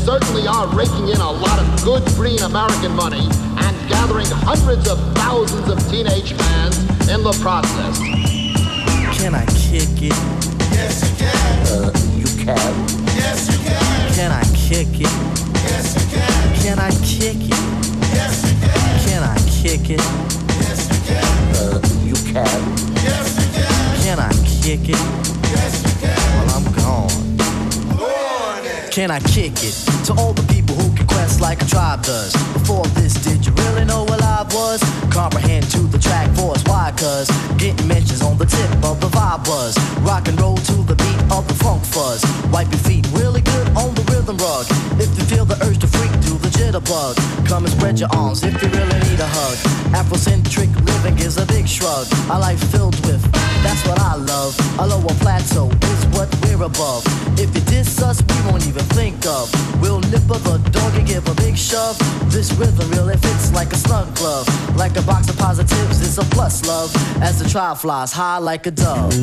certainly are raking in a lot of good green American money and gathering hundreds of thousands of teenage fans in the process. Can I kick it? Yes, you can. You can. Yes, you can. Can I kick it? Yes, you can. Can I kick it? Yes, you can. Can I kick it? Yes, you can. You can. Yes, you can. Can I kick it? Yes, you can. Well, I'm gone. Can I kick it to all the people who can quest like a tribe does? Before this, did you really know what I was? Comprehend to the track force, why? Cause getting mentions on the tip of the vibe buzz. Rock and roll to the beat of the funk fuzz. Wipe your feet really good on the rhythm rug. If you feel the urge to freak, do the jitterbug. Come and spread your arms if you really need a hug. Afrocentric living is a big shrug. A life filled with, that's what I love. A lower plateau is what we're above. If you diss us, we won't even think of. We'll nipper the dog and give a big shove. This rhythm really fits like a snug glove. Like a box of positives, it's a plus love. As the trial flies high like a dove.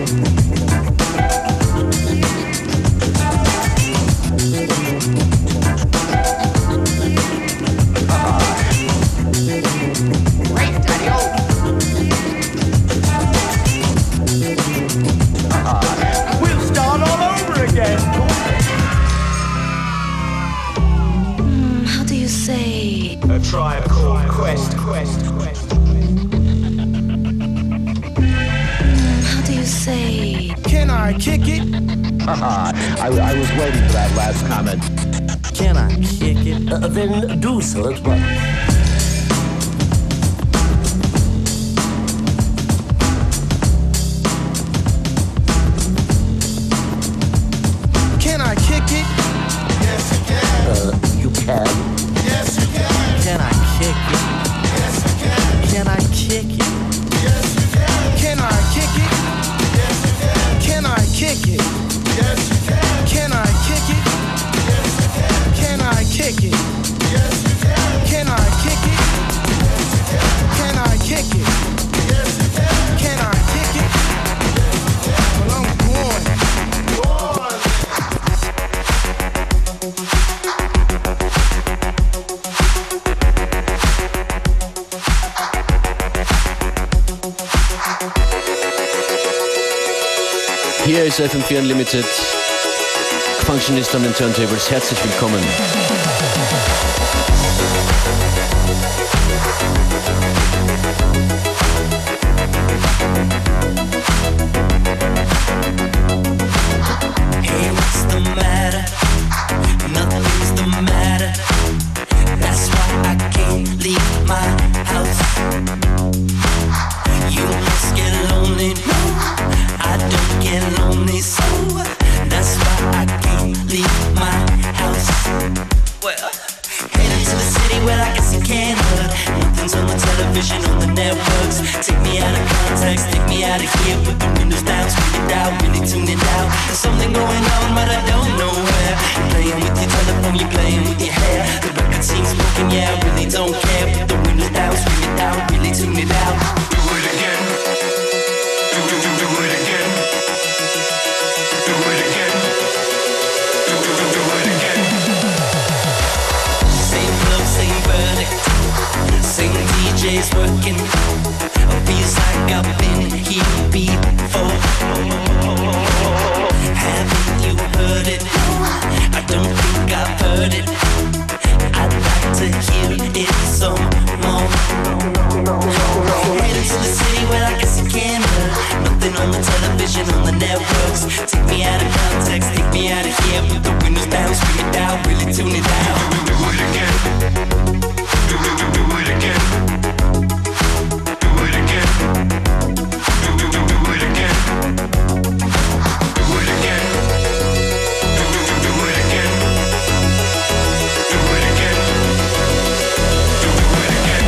We'll start all over again. How do you say? A tribe called Quest. How do you say? Can I kick it? I was waiting for that last comment. Can I kick it? Then do so at once. Can I kick it? Yes, you can. You can. Yes, you can. Can I kick it? Yes, you can. Can I kick it? Yes, you can. Can I kick it? Yes, you can. Can I kick it? Yes, you can. Can I kick it? Yes, you can. Can I kick it? Yes, you can. Can I kick it? Yes, you can. Can I kick it? Yes, you can. Can I kick it? Well, I'm going. Hier ist FM4 Unlimited. Functionist an den Turntables. Herzlich willkommen. Hey, what's the matter? Nothing's the matter. That's why I can't leave my house. You must get lonely. No, I don't get lonely, so that's why I can't leave my house. Well, heading to the city where I guess you can't hurt. Nothing's on the television, on the networks. Take me out of context, take me out of here. Put the windows down, screen it out, really tune it out. There's something going on, but I don't know where. You're playing with your telephone, you're playing with your hair. The record seems broken, yeah, I really don't care. Put the windows down, screen it out, really tune it out. Do it again. Do it again. Do it again. Do it again. Same club, same verdict. Same DJs working. Feels like I've been here before. Haven't you heard it? I don't think I've heard it. I'd like to hear it some more. Heading to the city where I guess you can't hurt. Nothing on the television, on the networks. Take me out of context, take me out of here. Put the windows down, scream it out, really tune it out. Do it again. Do it again. Do it again. Do it again. Do it again. Do it again. Do it again. Do it again.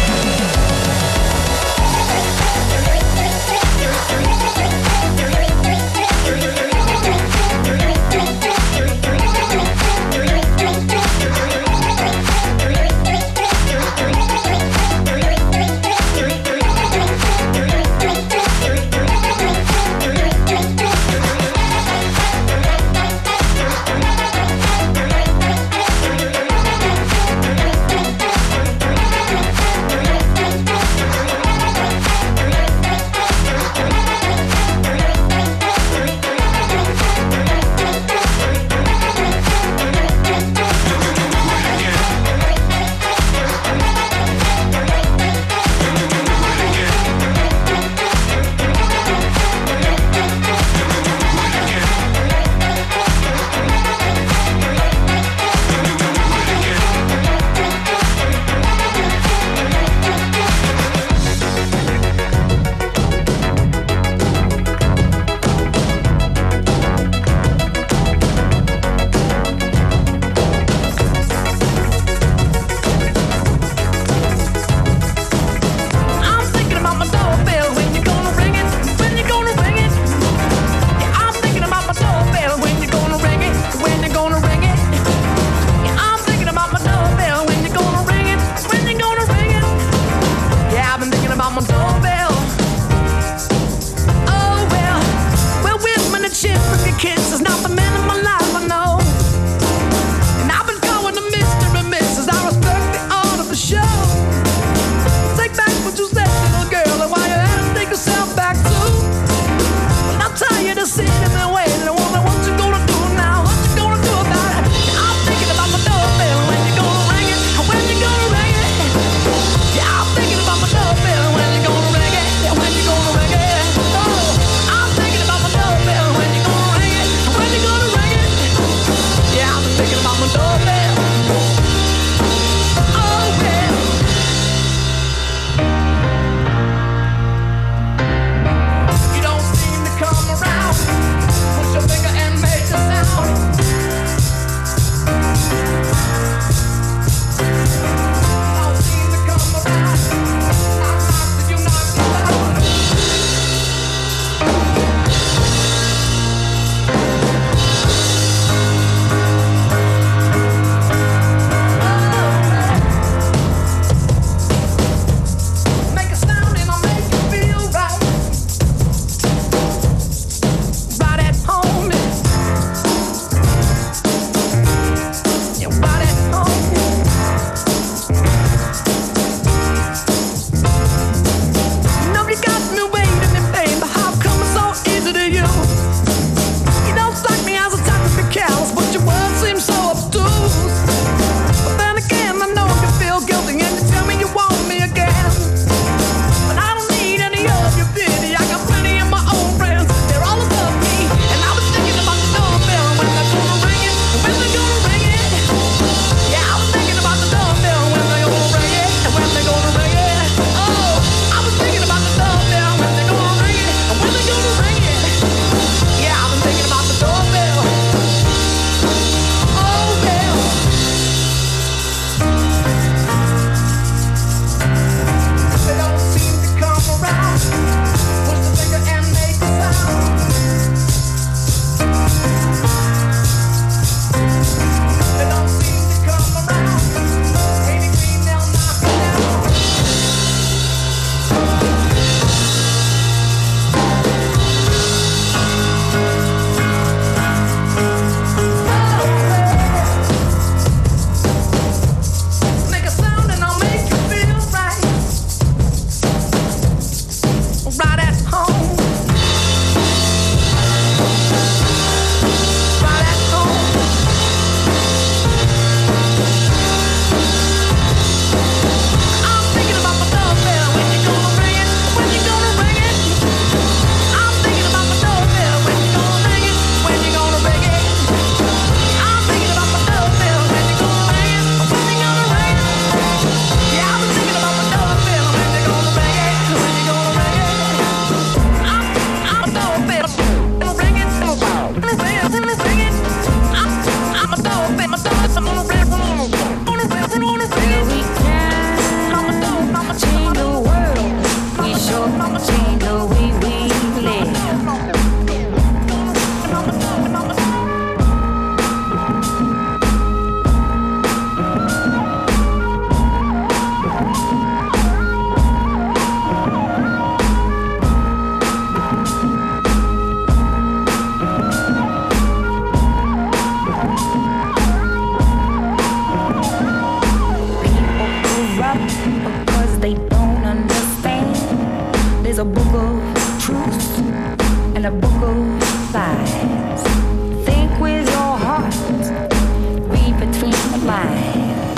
a book of lies. Think with your heart, read between the lines.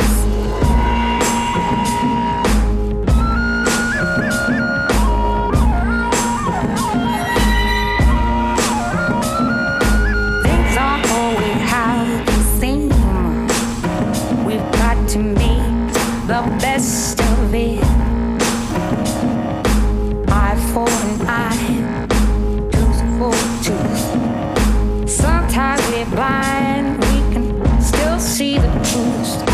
Things aren't always how they seem. We've got to make the best of it. Eye for an eye, tooth for tooth. Sometimes we're blind, we can still see the truth.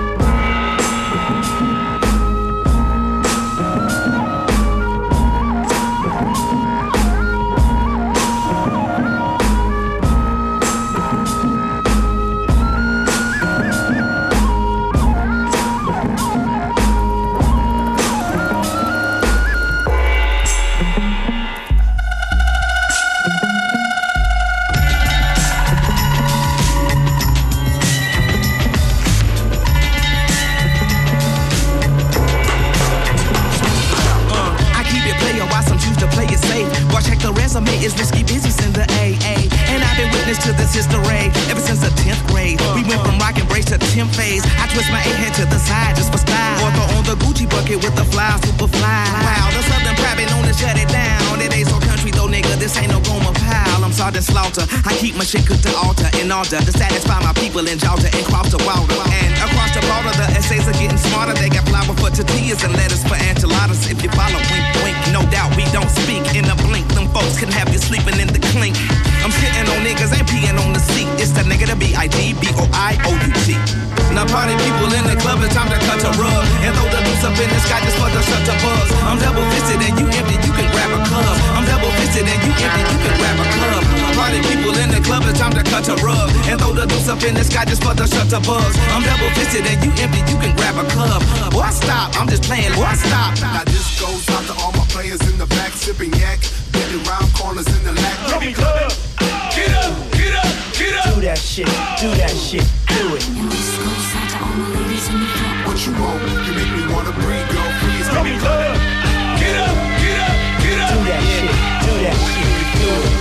Is risky business in the AA, and I've been witness to this history ever since the 10th grade. We went from rock and brace to temp phase. I twist my A-head to the side just for style, or throw on the Gucci bucket with the fly, super fly. Wow, the Southern private known to shut it down. It ain't so country though, nigga, this ain't no Goma pile. I'm Sergeant Slaughter, I keep my shit cooked to altar in order to satisfy my people in Georgia and cross the water. And across the border, the essays are getting smarter. They got flour for tortillas and lettuce for enchiladas. If you follow, wink, wink, no doubt we don't speak in a blink. Them folks can have you sleeping in the clink. I'm sitting on niggas and peeing on the seat. It's the nigga, the B-I-D-B-O-I-O-U-T. Now party people in the club, it's time to cut a rug and throw the loose up in the sky just for the shut the buzz. I'm double fisted and you empty, you can grab a club. I'm double fisted and you empty, you can grab a club. Party people in the club, it's time to cut a rug and throw the loose up in the sky just for the shut the buzz. I'm double fisted and you empty, you can grab a club. Boy, stop, I'm just playing, boy, stop. Now this goes out to all my players in the back, sipping yak, getting round corners in the lack. Come club, get up, get up, get up. Do that shit, do that shit, do it. And this goes out to all my ladies in the front. What you want? You make me wanna breathe, girl. Please Come club, get up, get up, get up. Do that shit, do that shit, do it.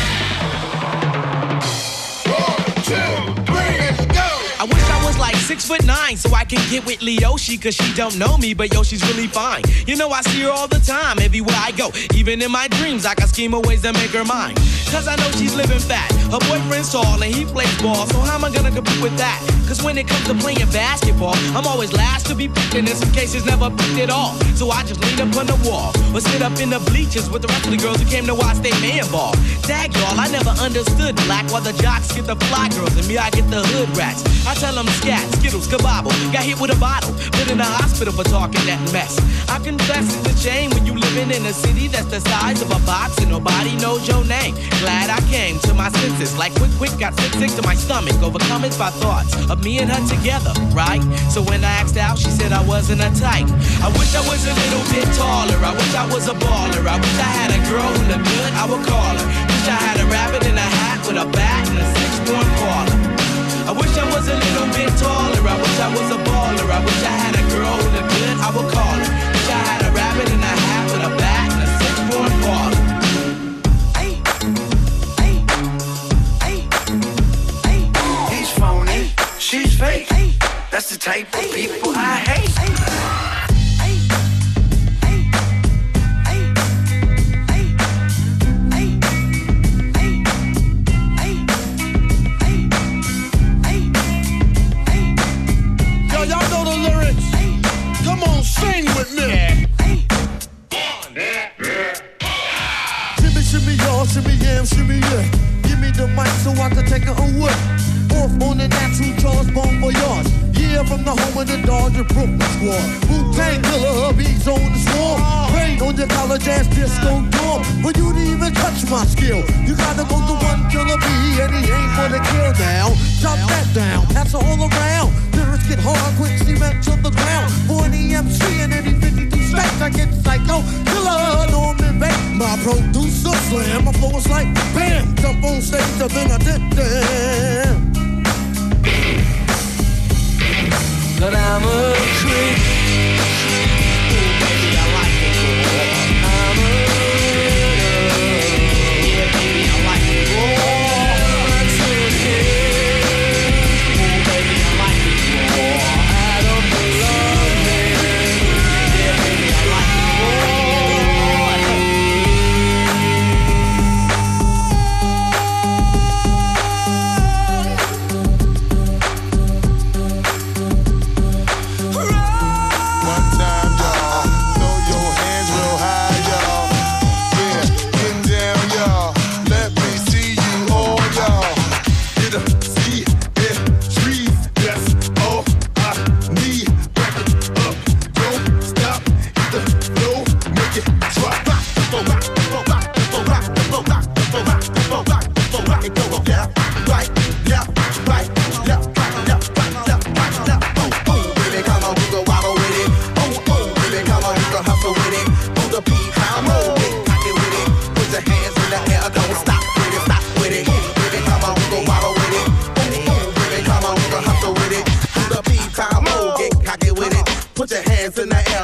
1, 2, 3, let's go. I wish I was like 6'9" so I can get with Leoshi, cause she don't know me, but yo, she's really fine. You know I see her all the time, everywhere I go. Even in my dreams, I can scheme of ways to make her mine. Cause I know she's living fat. Her boyfriend's tall and he plays ball, so how am I gonna compete with that? Cause when it comes to playing basketball, I'm always last to be picked, and in some cases never picked at all. So I just lean up on the wall, or sit up in the bleachers with the rest of the girls who came to watch their man ball. Dag y'all, I never understood black, while the jocks get the fly girls, and me I get the hood rats. I tell them scat, skittles, kabobble, got hit with a bottle, put in the hospital for talking that mess. I confess it's a shame when you living in a city that's the size of a box and nobody knows your name. Glad I came to my senses, like quick, got sick to my stomach, overcome it by thoughts of me and her together, right? So when I asked out, she said I wasn't a type. I wish I was a little bit taller, I wish I was a baller, I wish I had a girl who looked good, I would call her. Wish I had a rabbit in a hat with a bat and a 6-point parlor. I wish I was a little bit taller, I wish I was a baller, I wish I had a girl who looked good, I would call her. Wish I had a rabbit in a hat with a bat and a 6-point parlor. He's phony, she's fake, that's the type of people I hate. Sing with me. Shimmy, shimmy, y'all, shimmy, yam, shimmy, yeah. Give me the mic so I can take it away. Off on the natural Charles Bon Voyage. Yeah, from the home of the Dodger Brooklyn squad. Wu-Tang Killer, hubby's on the swarm. Rain on your college ass disco dorm. For you to even touch my skill, you gotta go to one killer B, and he ain't for the kill now. Drop that down, pass it all around. Lyrics get hard, quick cement to the ground. For any MC and any 52 states, I get psycho. Killer, Norman Bates, my producer slam. My flow is like bam, jump on stage, and then I did damn. But I'm a creep. Ooh, baby, I like it cool. I'm a yeah, baby,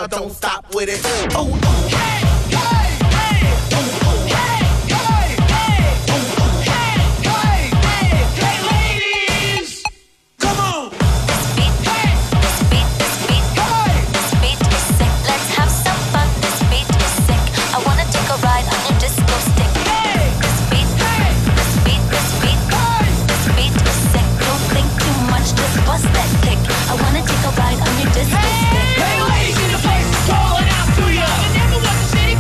now, don't stop with it. Oh, Hey, hey, hey. Hey, hey, hey. Hey, hey, hey. Hey, ladies. Come on. This beat, hey. This beat, this beat, hey. This beat is sick. Let's have some fun. This beat is sick. I wanna take a ride on your disco stick. Hey. This beat, hey. This beat, this beat, hey. This beat is sick. Don't think too much, just bust that kick. I wanna take a ride on your disco stick. Hey, ladies in the place, calling out to ya. I never want to see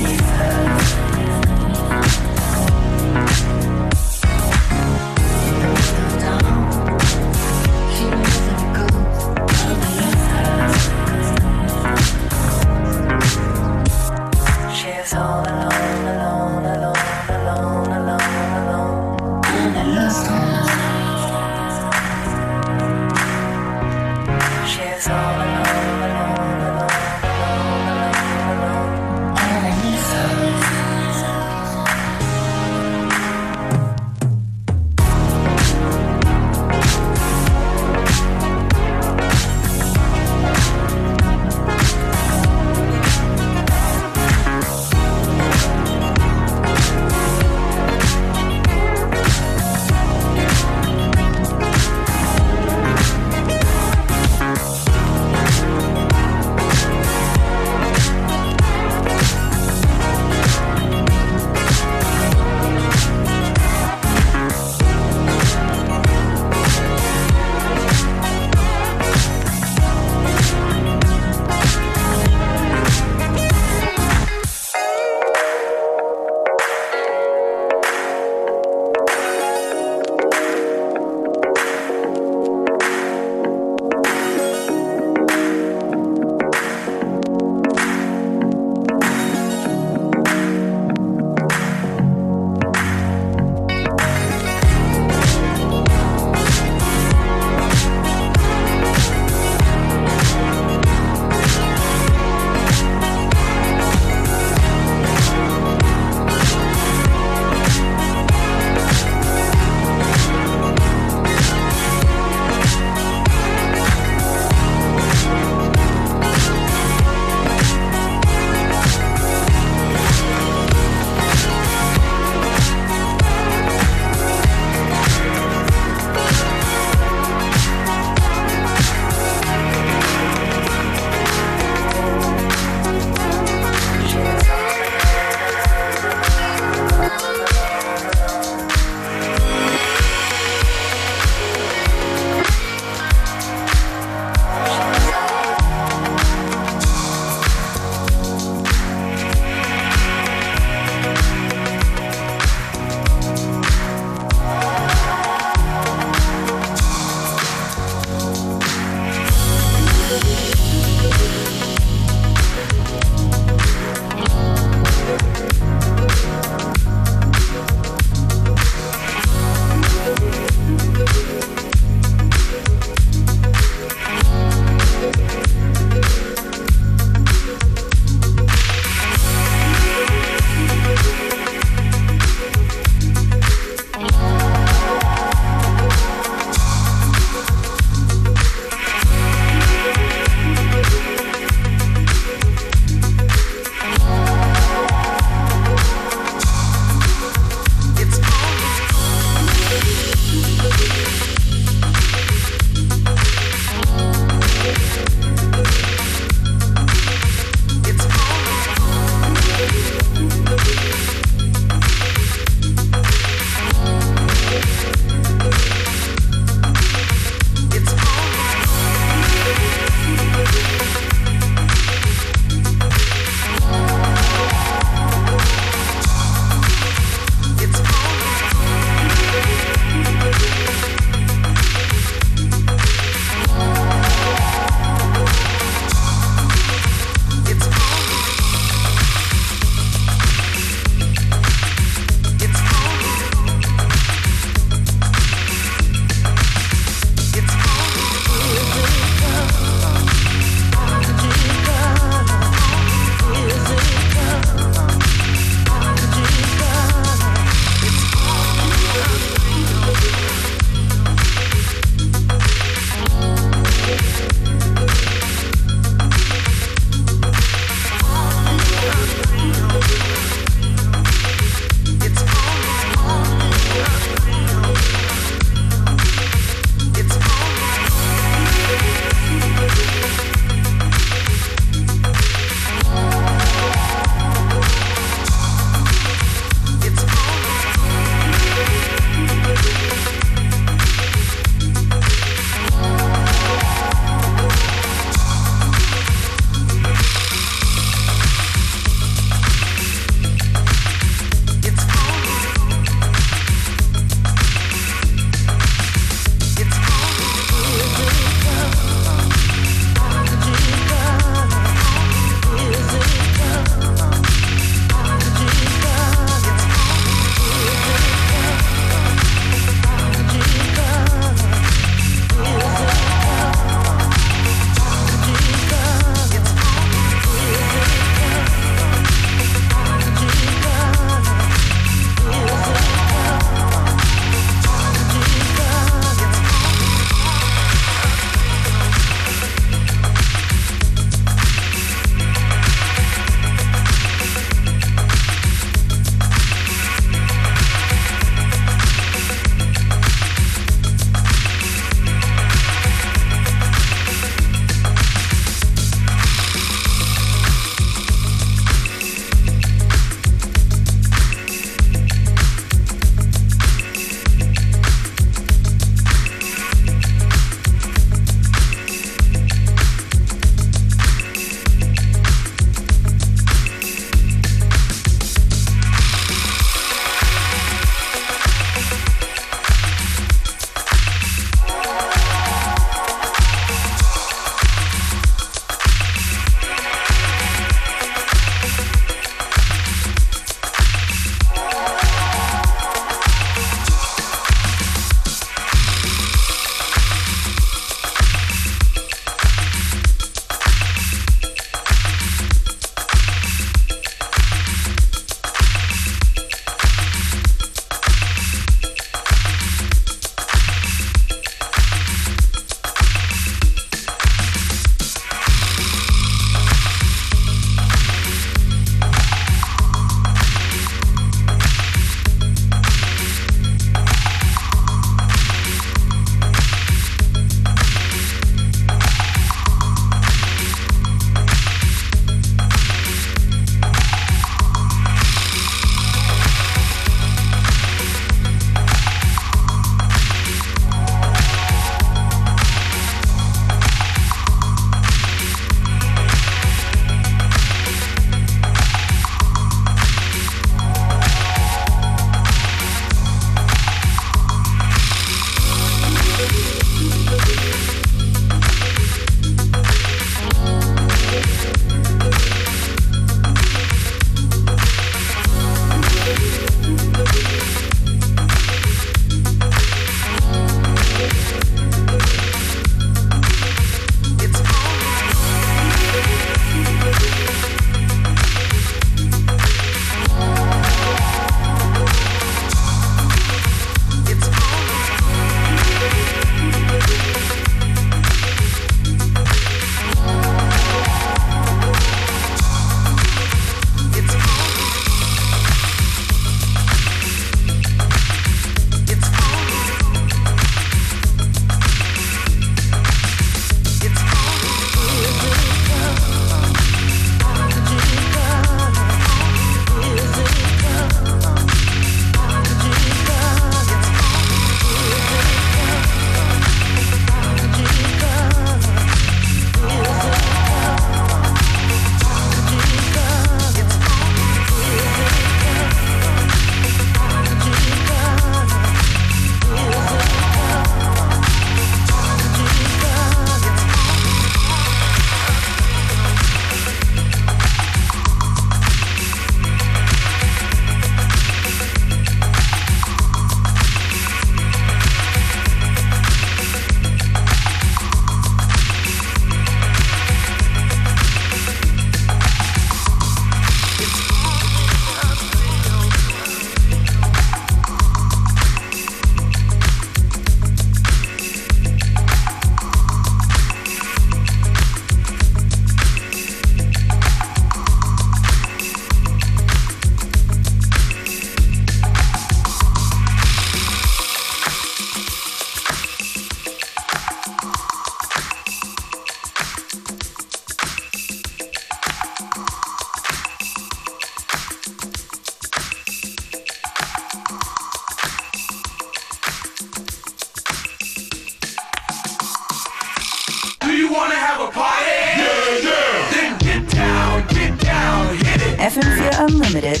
FM4 Unlimited.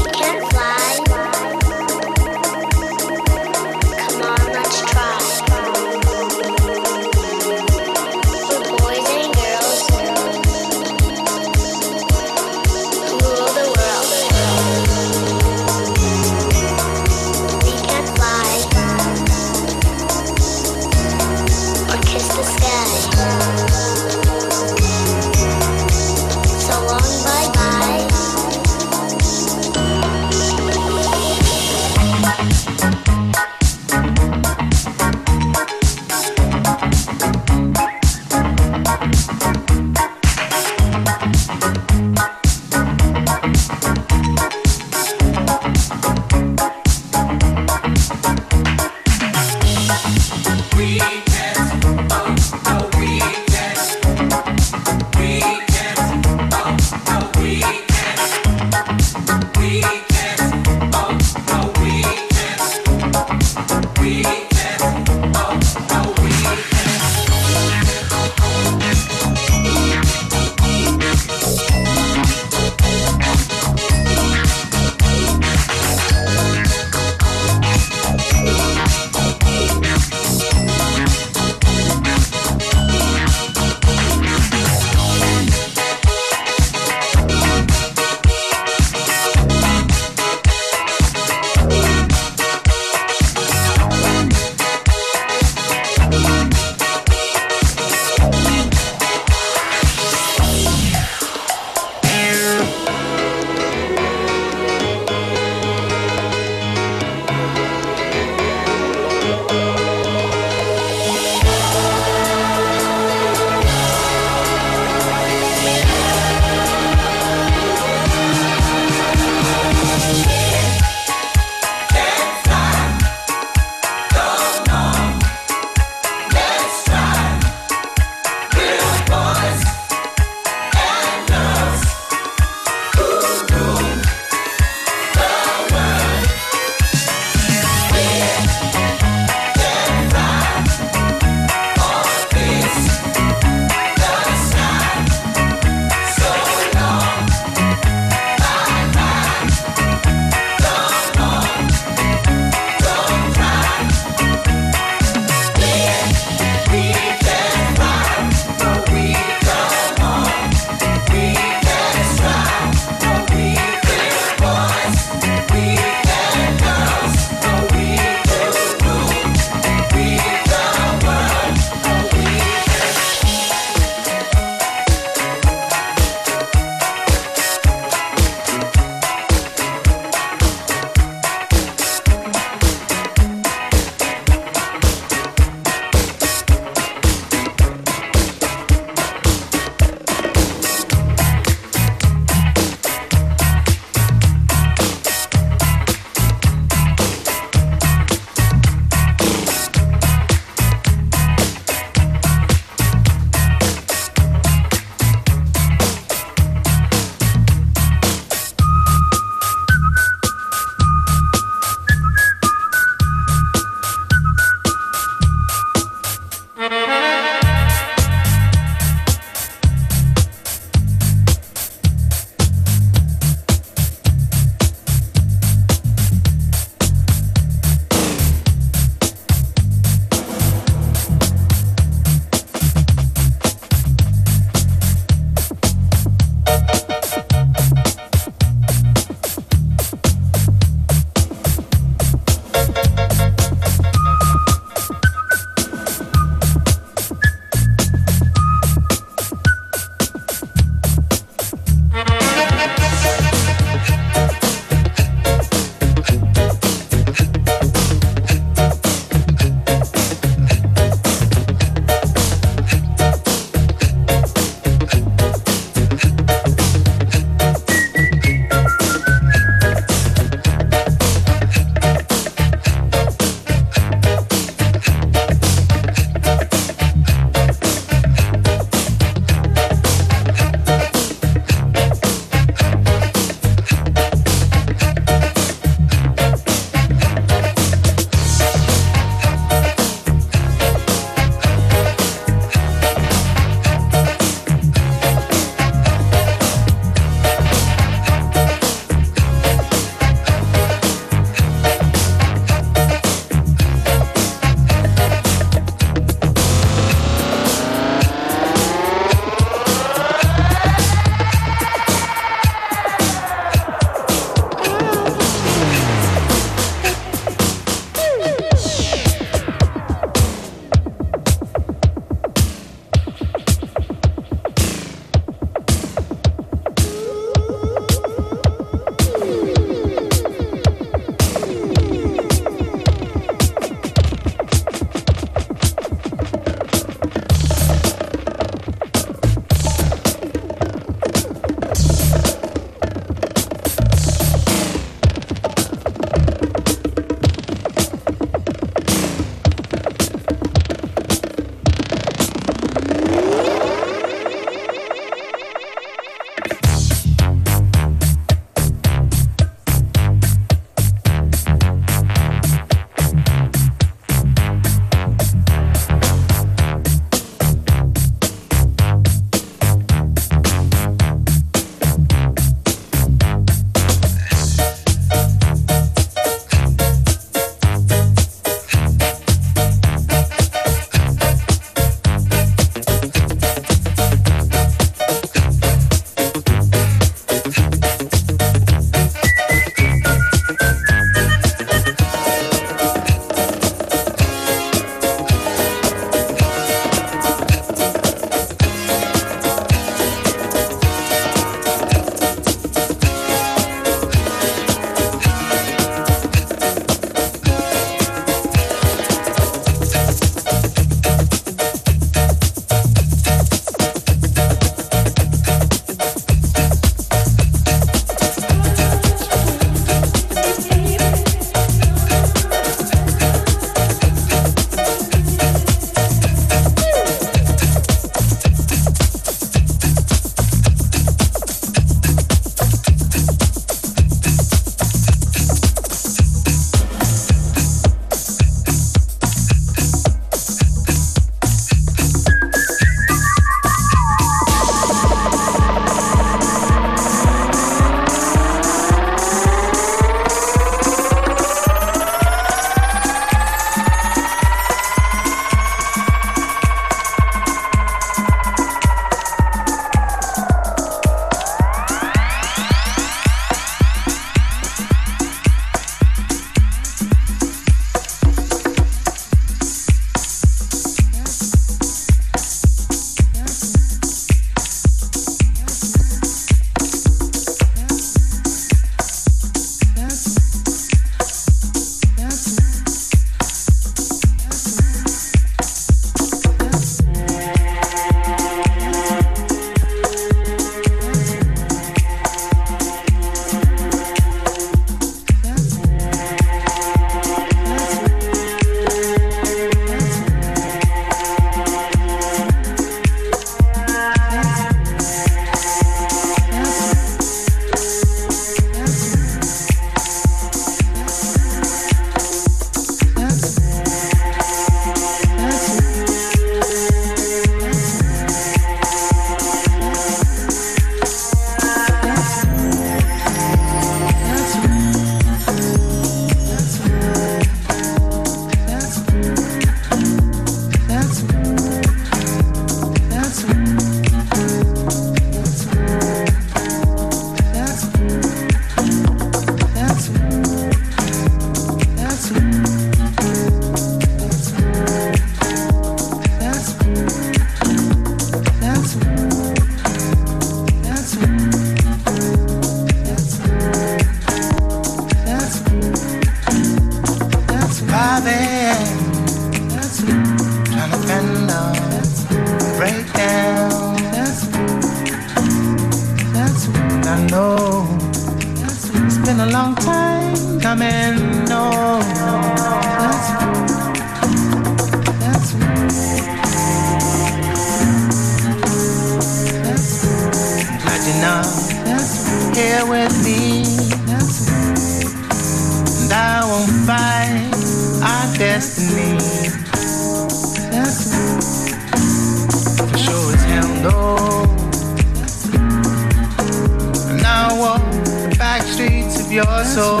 your soul.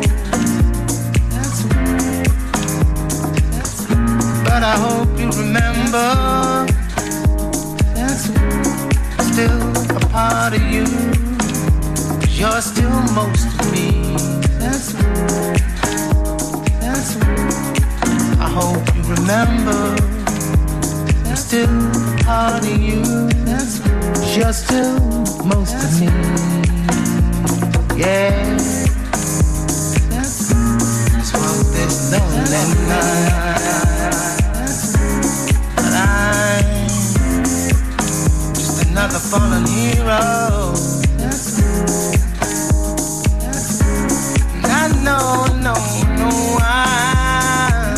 But I hope you remember, still a part of you. You're still most of me. I hope you remember, I'm still a part of you. You're still most of me. Yeah. Just walk this lonely night, but I'm just another fallen hero. No, I'm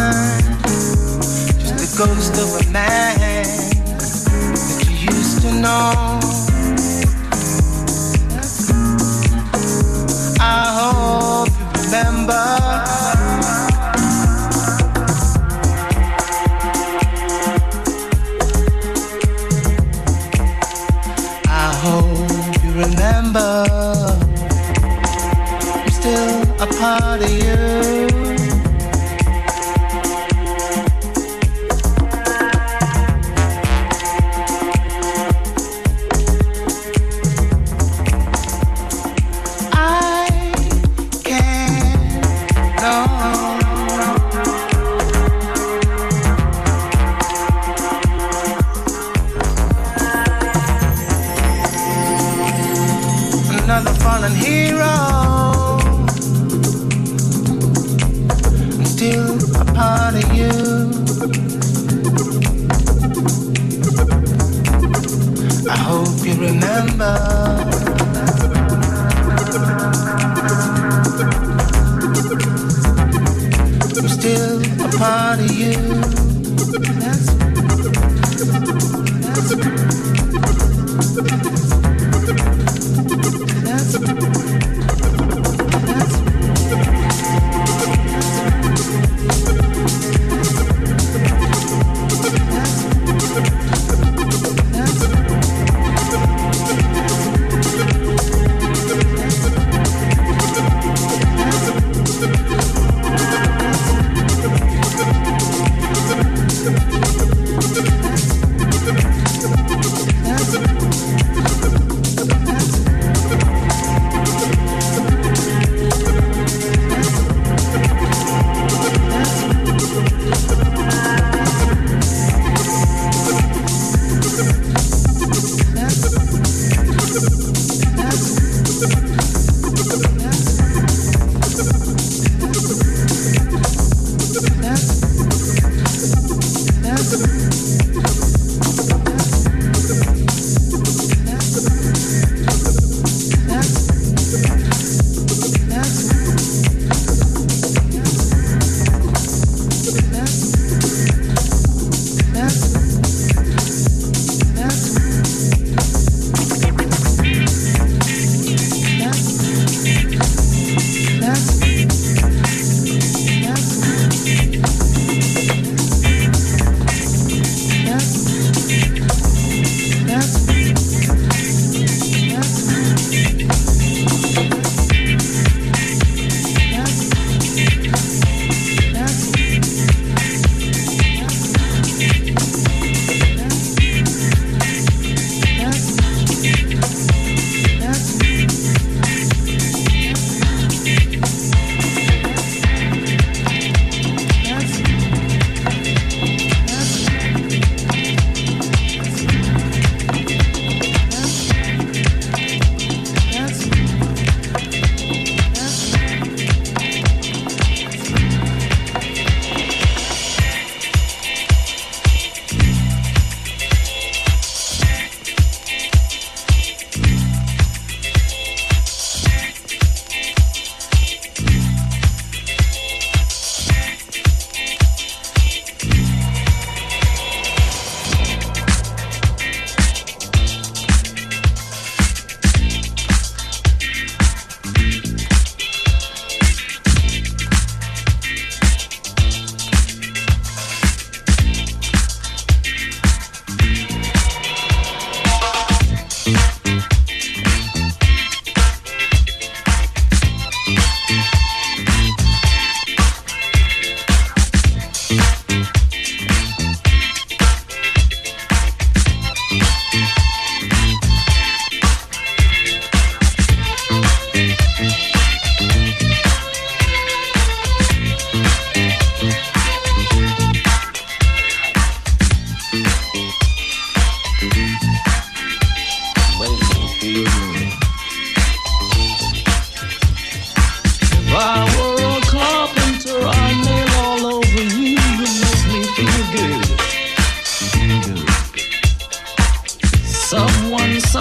just the ghost of a man that you used to know. I hope you remember. I hope you remember. A part of you. I can't know. Another fallen hero. Still a part of you. I hope you remember. I'm still a part of you.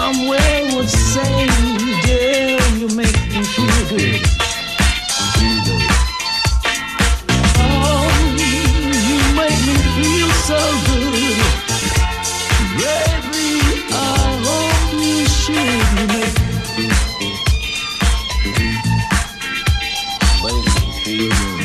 somewhere would say, girl, you make me feel good. Oh, you make me feel so good. Baby, I hope you should make me feel good.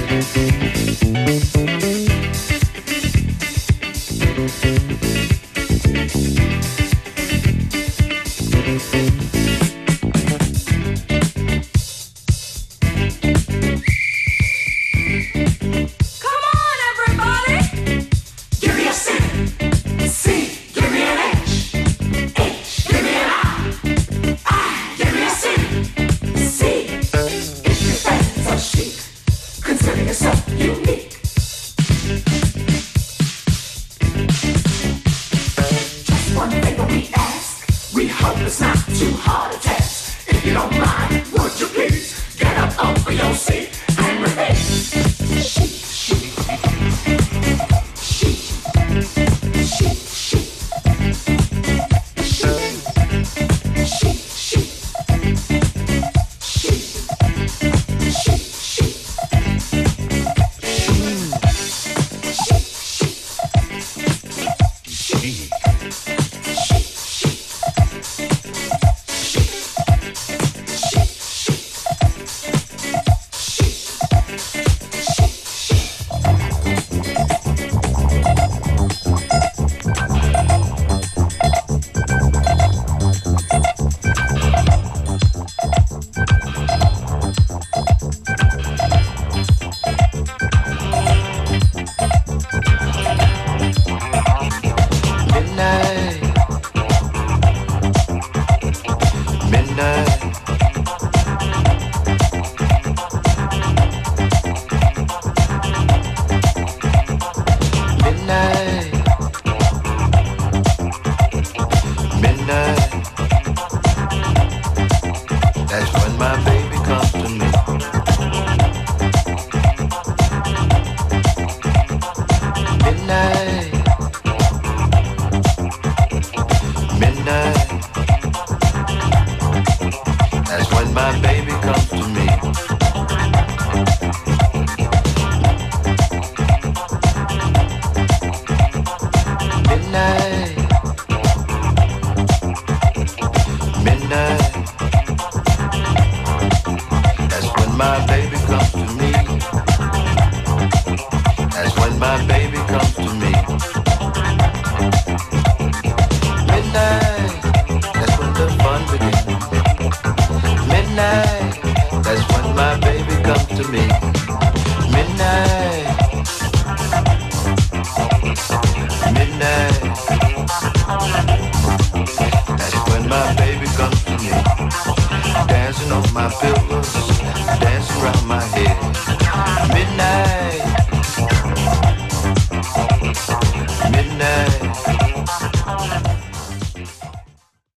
That's when my baby comes to me, dancing on my pillows.